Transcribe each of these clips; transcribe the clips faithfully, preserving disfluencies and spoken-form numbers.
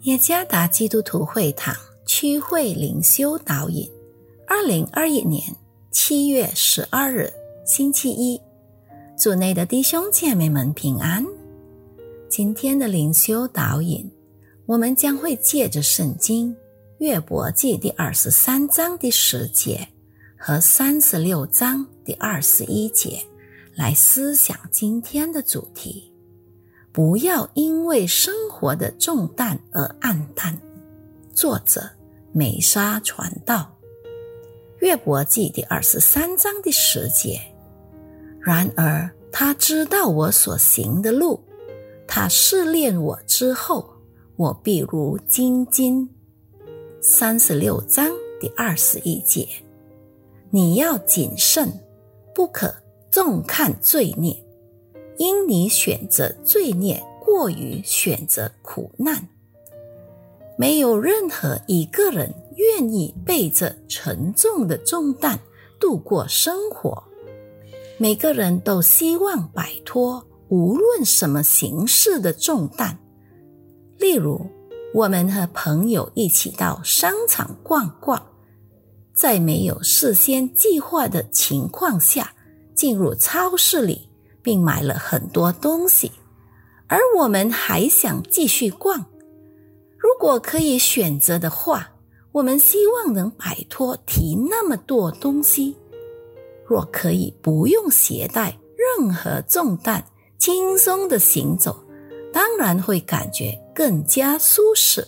耶加达基督徒会堂区会灵修导引，二零二一年七月十二日星期一，主内的弟兄姐妹们平安。今天的灵修导引，我们将会借着圣经约伯记第二十三章第十节和三十六章第二十一节来思想今天的主题。不要因为生活的重担而暗淡。作者美莎传道。约伯记第二十三章第十节，然而他知道我所行的路，他试炼我之后，我必如精金。三十六章第二十一节，你要谨慎，不可重看罪孽，因你选择罪孽过于选择苦难。没有任何一个人愿意背着沉重的重担度过生活，每个人都希望摆脱无论什么形式的重担。例如，我们和朋友一起到商场逛逛，在没有事先计划的情况下进入超市里，并买了很多东西，而我们还想继续逛。如果可以选择的话，我们希望能摆脱提那么多东西。若可以不用携带任何重担，轻松地行走，当然会感觉更加舒适。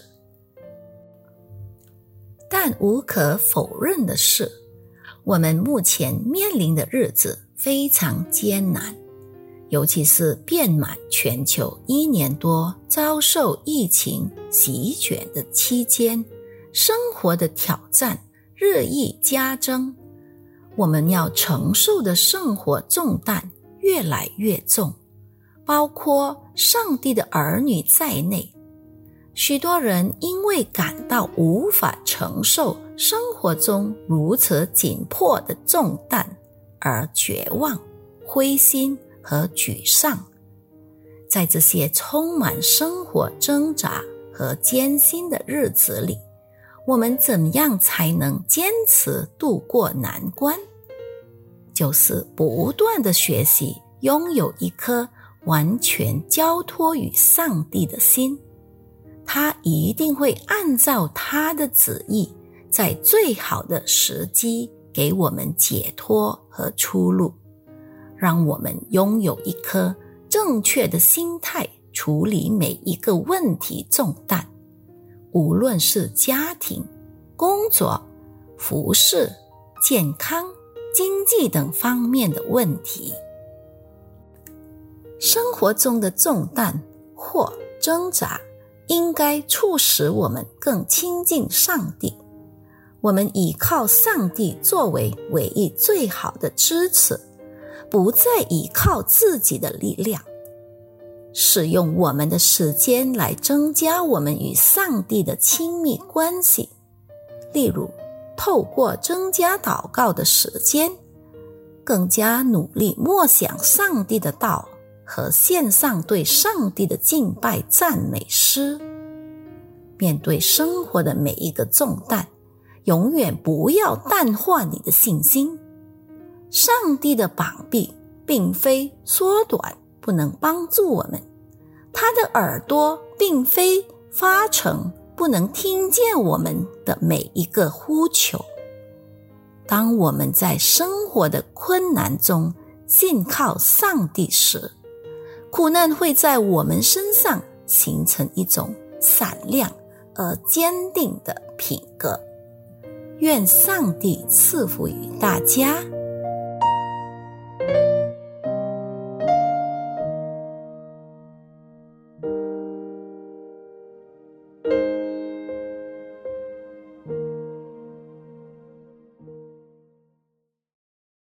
但无可否认的是，我们目前面临的日子非常艰难，尤其是遍满全球一年多遭受疫情席卷的期间，生活的挑战日益加增，我们要承受的生活重担越来越重，包括上帝的儿女在内。许多人因为感到无法承受生活中如此紧迫的重担而绝望、灰心和沮丧。在这些充满生活挣扎和艰辛的日子里，我们怎样才能坚持度过难关？就是不断地学习，拥有一颗完全交托于上帝的心。他一定会按照他的旨意，在最好的时机给我们解脱和出路，让我们拥有一颗正确的心态，处理每一个问题重担，无论是家庭、工作、服饰、健康、经济等方面的问题。生活中的重担或挣扎应该促使我们更亲近上帝，我们依靠上帝作为唯一最好的支持，不再依靠自己的力量，使用我们的时间来增加我们与上帝的亲密关系。例如，透过增加祷告的时间，更加努力默想上帝的道和献上对上帝的敬拜赞美诗。面对生活的每一个重担，永远不要淡化你的信心。上帝的膀臂并非缩短，不能帮助我们；他的耳朵并非发沉，不能听见我们的每一个呼求。当我们在生活的困难中信靠上帝时，苦难会在我们身上形成一种闪亮而坚定的品格。愿上帝赐福于大家。